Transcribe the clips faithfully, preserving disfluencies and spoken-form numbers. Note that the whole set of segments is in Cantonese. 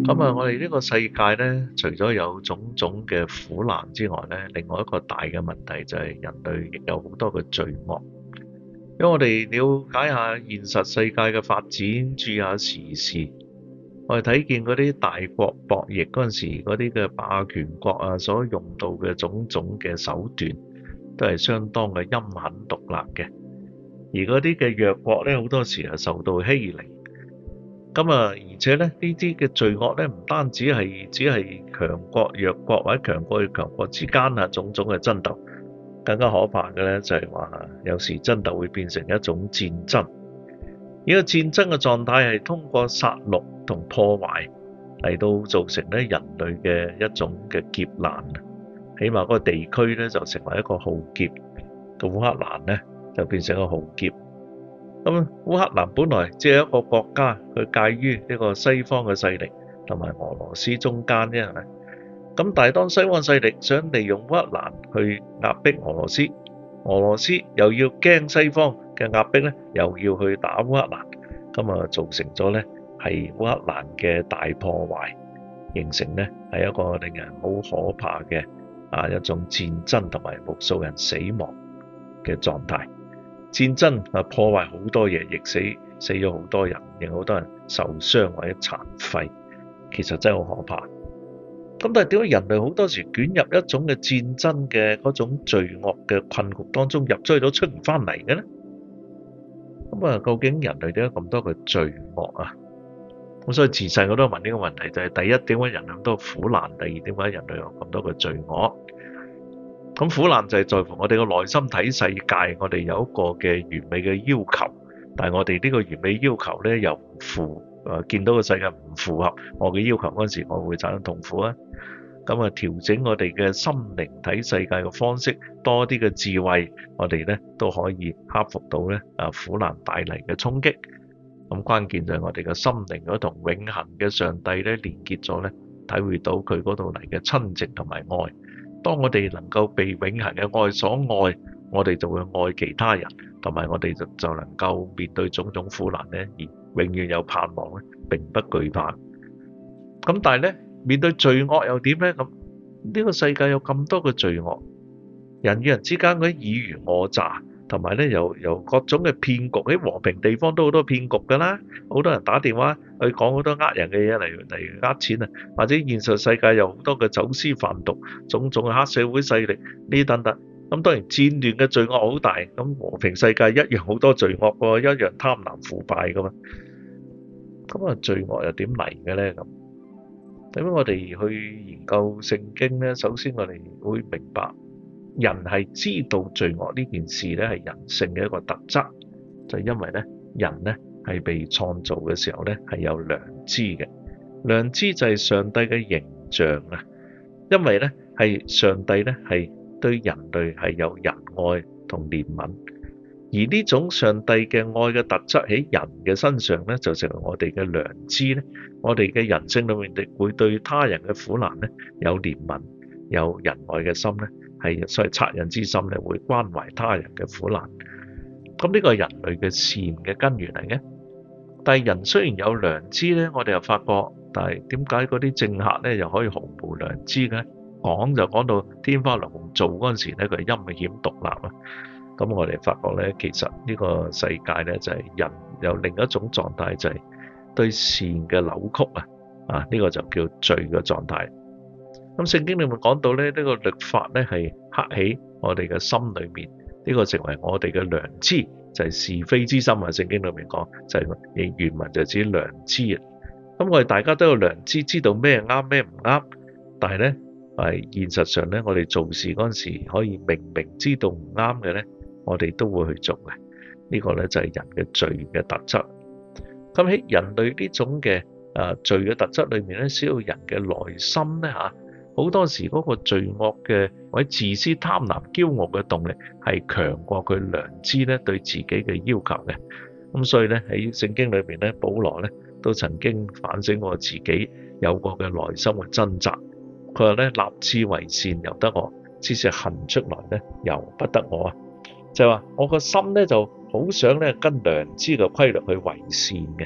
咁啊，我哋呢個世界咧，除咗有種種嘅苦難之外咧，另外一個大嘅問題就係人類亦有好多嘅罪惡。因為我哋了解下現實世界嘅發展，注意下時事，我哋睇見嗰啲大國博弈嗰陣時，嗰啲嘅霸權國啊，所用到嘅種種嘅手段，都係相當嘅陰狠毒辣嘅。而嗰啲嘅弱國咧，好多時係受到欺凌。咁啊，而且咧，呢啲嘅罪惡咧，唔單止係只係強國弱國或者強國與強國之間啊，種種嘅爭鬥，更加可怕嘅咧就係話，有時爭鬥會變成一種戰爭。呢個戰爭嘅狀態係通過殺戮同破壞嚟到造成咧人類嘅一種嘅劫難。起碼嗰個地區咧就成為一個浩劫，個烏克蘭咧就變成一個浩劫。咁烏克蘭本來只係一個國家，佢介於呢個西方嘅勢力同埋俄羅斯中間啫，係咪？咁但係當西方勢力想利用烏克蘭去壓迫俄羅斯，俄羅斯又要驚西方嘅壓迫咧，又要去打烏克蘭，咁啊造成咗咧係烏克蘭嘅大破壞，形成咧係一個令人好可怕嘅啊一種戰爭同埋無數人死亡嘅狀態。戰爭啊破壞好多嘢，亦死死咗好多人，令好多人受傷或者殘廢，其實真係好可怕。咁但係點解人類好多時捲入一種嘅戰爭嘅嗰種罪惡嘅困局當中，入咗去都出唔翻嚟嘅咧？咁啊，究竟人類點解咁多嘅罪惡啊？咁所以自細我都問呢個問題，就係第一，點解人咁多苦難？第二，點解人類有咁多嘅罪惡？咁苦難就係在乎我哋個內心睇世界，我哋有一個嘅完美嘅要求，但係我哋呢個完美要求咧又唔符，誒見到個世界唔符合我嘅要求嗰陣時，我會產生痛苦啊。咁啊，調整我哋嘅心靈睇世界嘅方式，多啲嘅智慧，我哋咧都可以克服到咧啊苦難帶嚟嘅衝擊。咁關鍵就係我哋嘅心靈嗰同永恆嘅上帝咧連結咗咧，體會到佢嗰度嚟嘅親情同埋愛。當我哋能夠被永恆嘅愛所愛，我哋就會愛其他人，同埋我哋就就能夠面對種種苦難咧，而永遠有盼望咧，並不懼怕。咁但係咧，面對罪惡又點咧？咁呢個世界有咁多嘅罪惡，人與人之間嗰啲爾虞我詐，同埋咧由由各種嘅騙局，喺和平地方都好多騙局㗎啦，好多人打電話去講好多呃人嘅嘢嚟嚟呃錢啊，或者現實世界有好多嘅走私販毒，種種嘅黑社會勢力呢等等。咁當然戰亂嘅罪惡好大，咁和平世界一樣好多罪惡喎，一樣貪婪腐敗㗎嘛。咁啊，罪惡又點嚟嘅咧？咁咁我哋去研究聖經咧，首先我哋會明白人係知道罪惡呢件事咧係人性嘅一個特質，就係因為咧人咧係被創造嘅時候咧係有良知嘅，良知就係上帝嘅形象啊。因為咧係上帝咧係對人類係有仁愛同憐憫，而呢種上帝嘅愛嘅特質喺人嘅身上咧就成為我哋嘅良知咧，我哋嘅人性裏面亦會對他人嘅苦難咧有憐憫、有仁愛嘅心咧。係所謂惻隱之心咧，會關懷他人嘅苦難。咁呢個係人類嘅善嘅根源嚟嘅。但係人雖然有良知咧，我哋又發覺，但係點解嗰啲政客咧又可以毫無良知嘅？講就講到天花龍鳳，做嗰陣時咧，佢係陰險毒辣啊！咁我哋發覺咧，其實呢個世界咧就係人有另一種狀態，就係對善嘅扭曲啊！啊，呢個就叫罪嘅狀態。咁聖經裏面講到咧，呢個律法咧係刻喺我哋嘅心裏面，呢個成為我哋嘅良知，就係是非之心啊！聖經裏面講就係原文就指良知啊。咁我哋大家都有良知，知道咩啱咩唔啱，但係咧係現實上咧，我哋做事嗰陣時可以明明知道唔啱嘅咧，我哋都會去做嘅。呢個咧就係人嘅罪嘅特質。咁喺人類呢種嘅誒罪嘅特質裏面咧，需要人嘅內心咧嚇。好多時嗰個罪惡嘅或者自私貪婪驕傲嘅動力係強過佢良知咧對自己嘅要求嘅。咁所以咧喺聖經裏邊咧，保羅咧都曾經反省過自己有過嘅內心嘅掙扎。佢話咧，立志為善由得我，只是行出來咧由不得我啊。就係話我個心咧就好想咧跟良知嘅規律去為善嘅，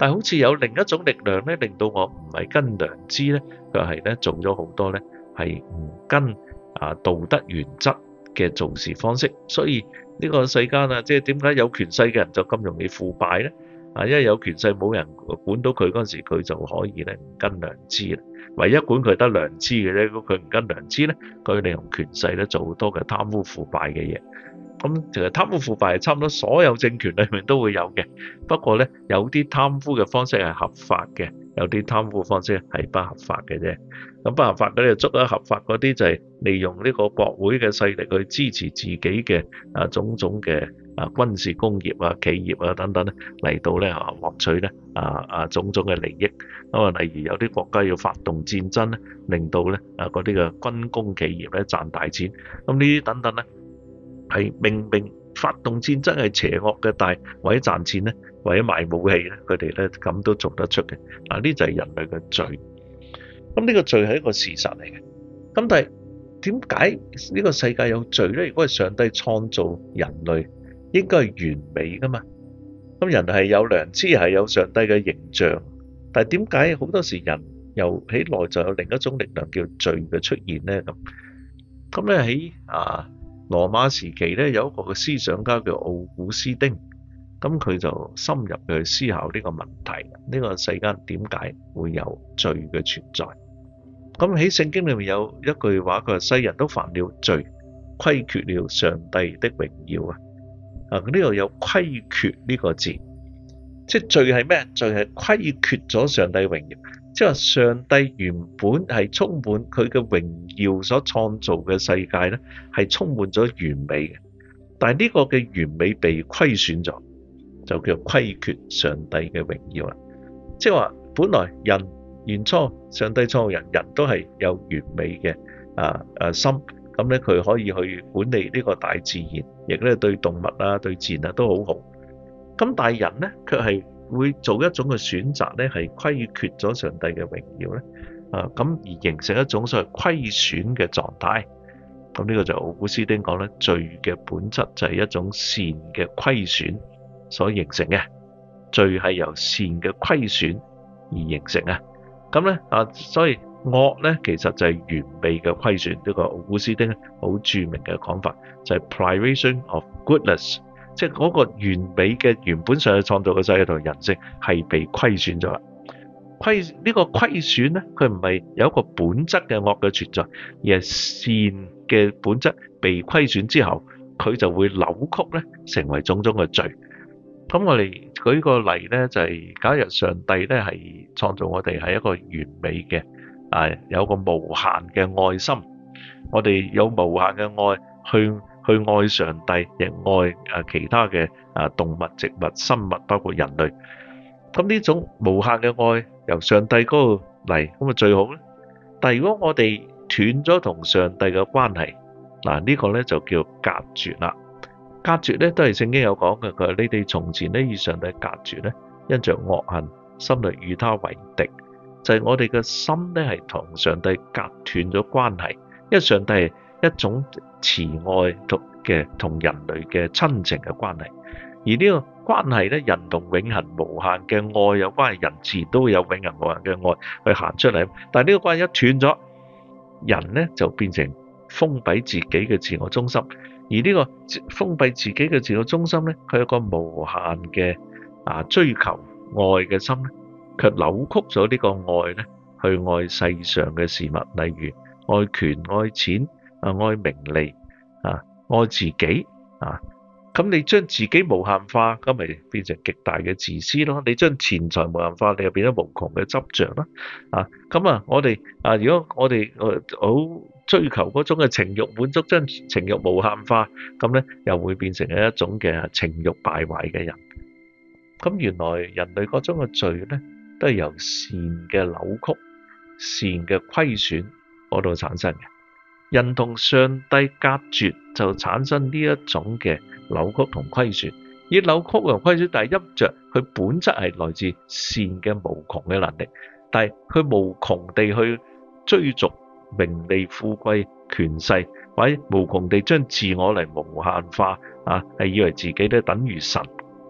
但係好似有另一種力量咧，令到我唔係跟良知咧，佢係咧做咗好多咧係唔跟啊道德原則嘅做事方式。所以呢個世間啊，即係點解有權勢嘅人就咁容易腐敗咧？啊，因為有權勢冇人管到佢嗰陣時，佢就可以咧唔跟良知啦。唯一管佢得良知嘅咧，如果佢唔跟良知咧，佢利用權勢咧做好多嘅貪污腐敗嘅嘢。咁其實貪污腐敗係差唔多所有政權裏面都會有嘅，不過咧有啲貪污嘅方式係合法嘅，有啲貪污方式係不合法嘅啫。咁不合法嗰啲就捉咗，合法嗰啲就係利用呢個國會嘅勢力去支持自己嘅啊種種嘅啊軍事工業啊企業啊等等咧嚟到咧啊獲取咧啊啊種種嘅利益。咁啊，例如有啲國家要發動戰爭咧，令到咧啊嗰啲嘅軍工企業咧賺大錢。咁呢啲等等咧。係明明發動戰爭係邪惡嘅，但係為咗賺錢咧，為咗賣武器咧，佢哋咧咁都做得出嘅。嗱，呢就係人類嘅罪。咁呢個罪係一個事實嚟嘅。咁但係點解呢個世界有罪咧？如果係上帝創造人類，應該係完美噶嘛？咁人係有良知，係有上帝嘅形象，但係點解好多時人又喺內在有另一種力量叫罪嘅出現咧？咁咁咧喺啊〜羅馬時期咧，有一個嘅思想家叫奧古斯丁，咁佢就深入去思考呢個問題：呢個世間點解會有罪嘅存在？咁喺聖經裏面有一句話，佢話世人都犯了罪，虧缺了上帝的榮耀啊！啊，呢度有虧缺呢個字，即係罪係咩？罪係虧缺咗上帝榮耀。即係話上帝原本係充滿佢嘅榮耀所創造嘅世界咧，係充滿咗完美嘅。但係呢個嘅完美被虧損咗，就叫虧缺上帝嘅榮耀啦。即係話本來人原初上帝創造人，人都係有完美嘅啊啊心，咁咧佢可以去管理呢個大自然，亦咧對動物啊、對自然啊都好好。咁但係人咧卻係會做一種嘅選擇咧，係虧缺咗上帝嘅榮耀咧，啊咁而形成一種所謂虧損嘅狀態。咁呢個就奧古斯丁講咧，罪嘅本質就係一種善嘅虧損所形成嘅，罪係由善嘅虧損而形成啊。咁咧啊，所以惡咧其實就係完美嘅虧損。呢個奧古斯丁好著名嘅講法就係 privation of goodness。即係嗰個完美嘅原本上去創造嘅世界同人性係被虧損咗啦。虧呢個虧損咧，佢唔係有一個本質嘅惡嘅存在，而係善嘅本質被虧損之後，佢就會扭曲咧，成為種種嘅罪。咁我哋舉個例咧，就係假如上帝咧係創造我哋係一個完美嘅啊，有個無限嘅愛心，我哋有無限嘅愛去。去愛上帝，亦愛其他嘅啊動物、植物、生物，包括人類。咁呢種無限嘅愛由上帝嗰度嚟，咁啊最好咧。但係如果我哋斷咗同上帝嘅關係，嗱呢個咧就叫隔絕啦。隔絕咧都係聖經有講嘅，佢話你哋從前咧與上帝隔絕咧，因着惡行，心裏與他為敵。就係、是、我哋嘅心咧係同上帝隔斷咗關係，因為上帝係一種慈愛同嘅同人類嘅親情嘅關係，而呢個關係咧，人同永恆無限嘅愛有關係，人自然都會有永恆無限嘅愛去行出嚟。但係呢個關係一斷咗，人咧就變成封閉自己嘅自我中心，而呢個封閉自己嘅自我中心咧，佢有個無限嘅啊追求愛嘅心咧，卻扭曲咗呢個愛咧，去愛世上嘅事物，例如愛權、愛錢。啊，愛名利啊，愛自己啊，咁你將自己無限化，咁咪變成極大嘅自私咯。你將錢財無限化，你又變咗無窮嘅執着啦。啊，咁啊，我哋啊，如果我哋好追求嗰種嘅情慾滿足，將情慾無限化，咁咧又會變成一種嘅情慾敗壞嘅人。咁原來人類嗰種嘅罪咧，都係由善嘅扭曲、善嘅虧損嗰度產生嘅。人同上帝隔絕就產生呢一種嘅扭曲同虧損，而扭曲同虧損，但係因着佢本質係來自善嘅無窮嘅能力，但係佢無窮地去追逐名利富貴權勢，或者無窮地將自我嚟無限化啊，係以為自己咧等於神。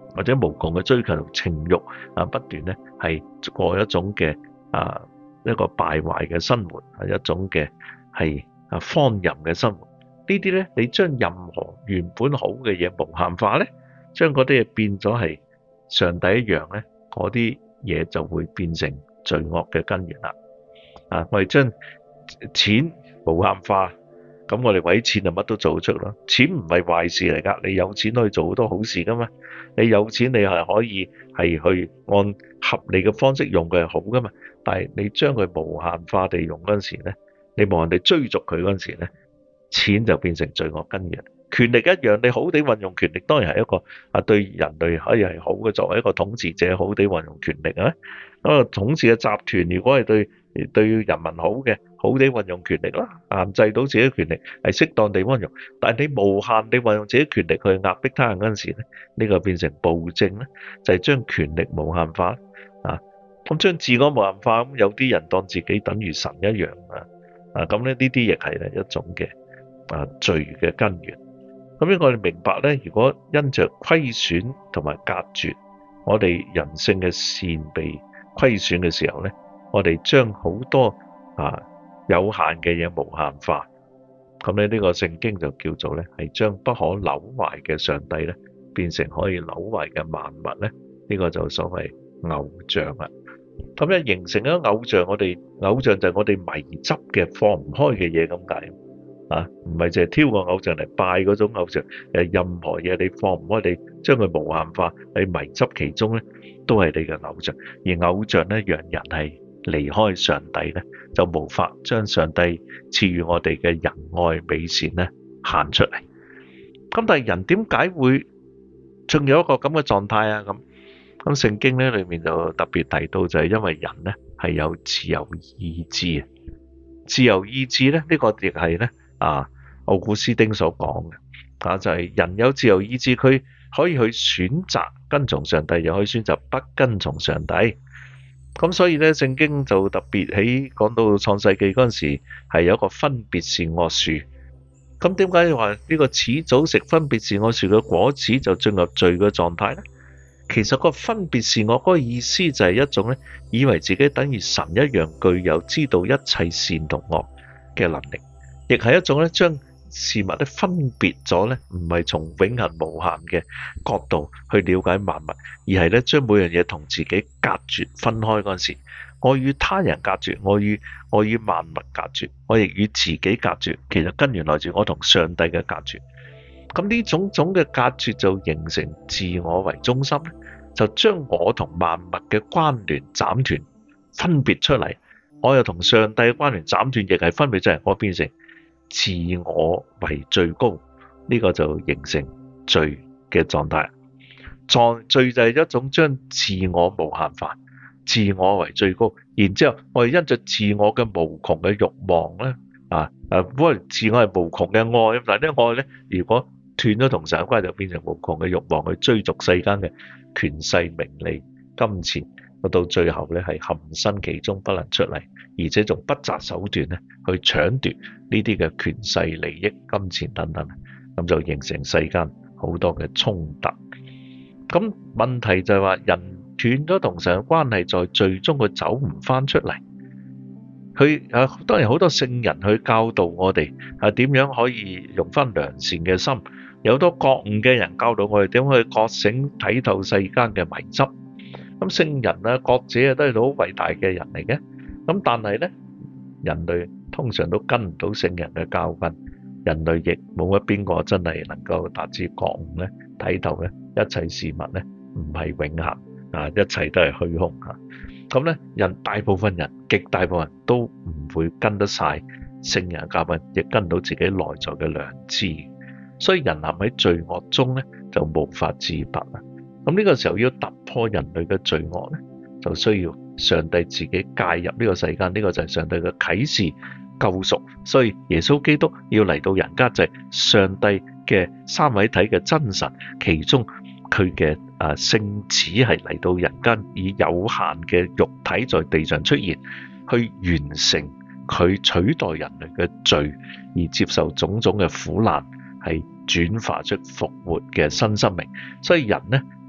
或者無窮嘅追求情慾啊，不斷咧係過一種嘅啊一個敗壞嘅生活，係一種嘅係啊荒淫嘅生活。呢啲咧，你將任何原本好嘅嘢無限化咧，將嗰啲嘢變咗係上帝一樣咧，嗰啲嘢就會變成罪惡嘅根源啦。啊，我哋將錢無限化，咁我哋為錢就乜都做得出咯。錢唔係壞事嚟㗎，你有錢可以做好多好事㗎嘛。你有錢你係可以係去按合理嘅方式用佢係好㗎嘛。但係你將佢無限化地用嗰陣時咧，你冇人哋追逐佢嗰陣時咧，錢就變成罪惡根源。權力一樣，你好地運用權力，當然係一個啊對人類可以係好嘅。作為一個統治者，好地運用權力啊。咁啊，統治嘅集團如果係對對人民好嘅，好地運用權力啦，限制到自己嘅權力係適當地運用。但係你無限地運用自己權力去壓迫他人嗰陣時咧，呢個變成暴政咧，就係將權力無限化啊。咁將自我無限化，咁有啲人當自己等於神一樣啊。啊，咁咧呢啲亦係咧一種嘅啊罪嘅根源。咁樣我哋明白咧，如果因着虧損同埋隔絕，我哋人性嘅善被虧損嘅時候咧，我哋將好多啊有限嘅嘢無限化。咁咧呢個聖經就叫做咧係將不可朽壞嘅上帝咧變成可以朽壞嘅萬物咧，呢個就所謂偶像啦。咁咧形成咗偶像，我哋偶像就係我哋迷執嘅放唔開嘅嘢咁解。啊，唔係淨係挑個偶像嚟拜嗰種偶像，誒，任何嘢你放唔開，你將佢無限化，你迷執其中咧，都係你嘅偶像。而偶像咧，讓人係離開上帝咧，就無法將上帝賜予我哋嘅仁愛美善咧行出嚟。咁但係人點解會仲有一個咁嘅狀態啊？咁咁聖經咧裏面就特別提到，就係因為人咧係有自由意志啊，自由意志咧呢個亦係咧。啊，奧古斯丁所講嘅啊，就係、是、人有自由意志，佢可以去選擇跟從上帝，又可以選擇不跟從上帝。咁所以咧，聖經就特別喺講到創世記嗰陣時，係有一個分別善惡樹。咁點解話呢個始早食分別善惡樹嘅果子就進入罪嘅狀態咧？其實個分別善惡嗰個意思就係一種咧，以為自己等於神一樣，具有知道一切善同惡嘅能力。亦係一種咧，將事物咧分別咗咧，唔係從永恆無限嘅角度去了解萬物，而係咧將每樣嘢同自己隔絕分開嗰陣時，我與他人隔絕，我與我與萬物隔絕，我亦與自己隔絕。其實根源來自我同上帝嘅隔絕。咁呢種種嘅隔絕就形成自我為中心，就將我同萬物嘅關聯斬斷，分別出嚟。我又同上帝嘅關聯斬斷，亦係分別出嚟，我變成自我為最高，呢、這個就形成罪嘅狀態。狀罪就係一種將自我無限化，自我為最高。然之後我哋因着自我嘅無窮嘅慾望咧，啊啊，本來自我係無窮嘅愛，但係呢愛咧，如果斷咗同神嘅關係，就變成無窮嘅慾望去追逐世間嘅權勢、名利、金錢。到最後咧係陷身其中不能出嚟，而且仲不擇手段咧去搶奪呢啲嘅權勢、利益、金錢等等，咁就形成世間好多嘅衝突。咁問題就係話，人斷咗同神嘅關係，在最終佢走唔翻出嚟。佢啊，當然好多聖人去教導我哋啊，點樣可以用翻良善嘅心。有好多覺悟嘅人教導我哋點去覺醒、睇透世間嘅迷執。咁聖人啊、覺者啊，都係好偉大嘅人嚟嘅。咁但係咧，人類通常都跟唔到聖人嘅教訓，人類亦冇乜邊個真係能夠達至覺悟咧、睇透咧，一切事物咧唔係永恆啊，一切都係虛空啊。咁咧，人大部分人、極大部分人都唔會跟得晒聖人嘅教訓，亦跟唔到自己內在嘅良知。所以人陷喺罪惡中咧，就無法自拔啊。咁呢個時候要突破人類嘅罪惡咧，就需要上帝自己介入呢個世間，呢個就係上帝嘅啟示救贖。所以耶穌基督要嚟到人間，就係上帝嘅三位體嘅真神，其中佢嘅啊聖子係嚟到人間，以有限嘅肉體在地上出現，去完成佢取代人類嘅罪，而接受種種嘅苦難，係轉化出復活嘅新生命。所以人呢嘅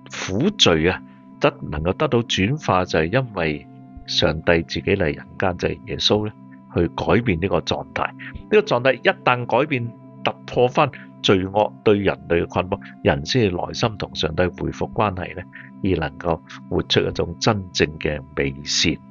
苦罪啊，得能夠得到轉化，就係因為上帝自己嚟人間，就係耶穌咧，去改變呢個狀態。呢個狀態一旦改變，突破翻罪惡對人類嘅捆綁，人先至內心同上帝恢復關係咧，而能夠活出一種真正嘅美善。